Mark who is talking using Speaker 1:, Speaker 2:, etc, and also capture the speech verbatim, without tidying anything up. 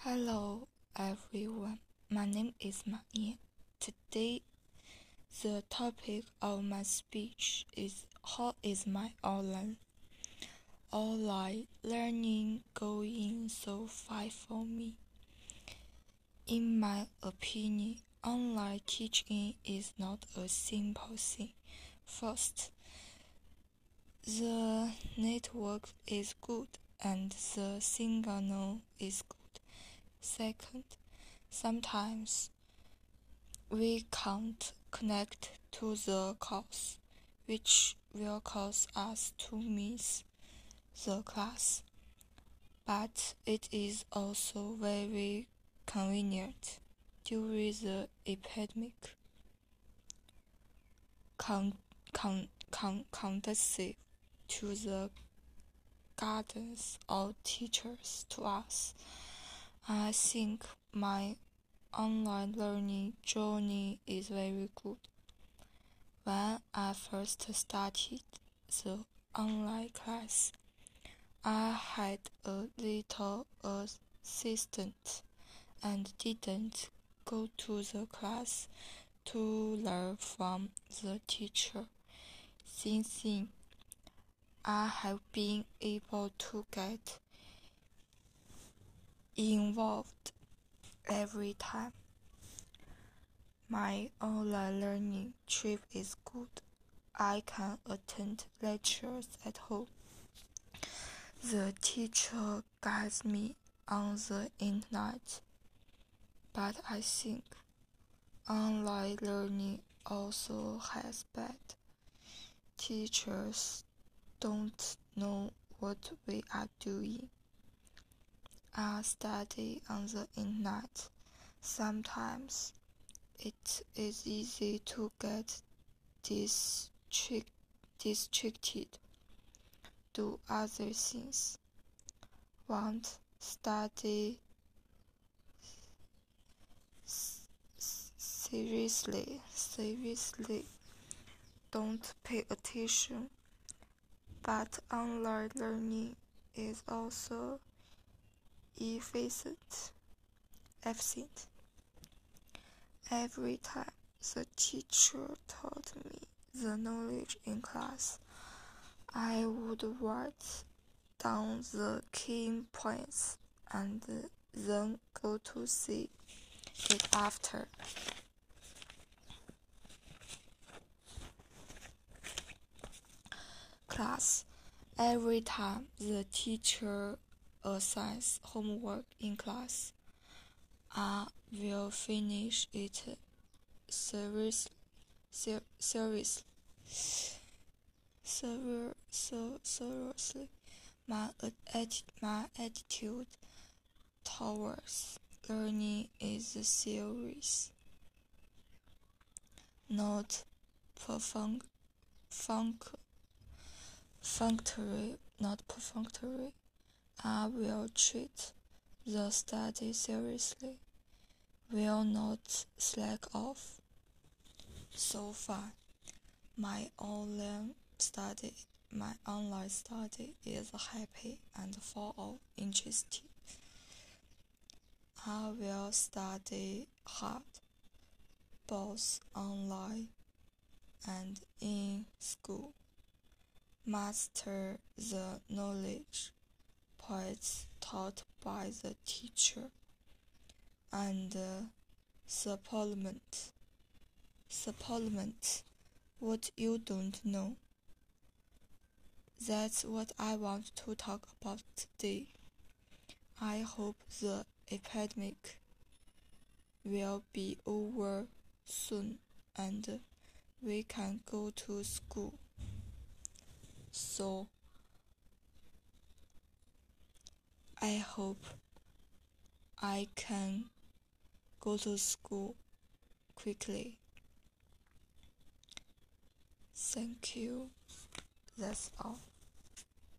Speaker 1: Hello everyone, my name is Ma Yan. Today, the topic of my speech is how is my online online learning going so far for me? In my opinion, online teaching is not a simple thing. First, the network is good and the signal is good. Second, sometimes we can't connect to the course, which will cause us to miss the class. But it is also very convenient during the epidemic, con- con- con- conducive to the guidance of teachers to us. I think my online learning journey is very good. When I first started the online class, I had a little assistant and didn't go to the class to learn from the teacher. Since then, I have been able to get involved every time. My online learning trip is good. I can attend lectures at home. The teacher guides me on the internet. But I think online learning also has bad. Teachers don't know what we are doing. I study on the internet. Sometimes it is easy to get district, distracted, do other things, won't study seriously, seriously, don't pay attention. But online learning is also efficient. efficient. Every time the teacher taught me the knowledge in class, I would write down the key points and then go to see it after. Class. Every time the teacher assigns homework in class, I will finish it seriously. Ser- seriously. Ser- ser- seriously. My, atti- my attitude towards learning is serious, not perfunctory, functory, not perfunctory. I will treat the study seriously, will not slack off. So far, my online study, my online study is happy and full of interest. I will study hard, both online and in school, master the knowledge points taught by the teacher, and uh, supplement, supplement what you don't know. That's what I want to talk about today. I hope the epidemic will be over soon and we can go to school. So, I hope I can go to school quickly. Thank you. That's all.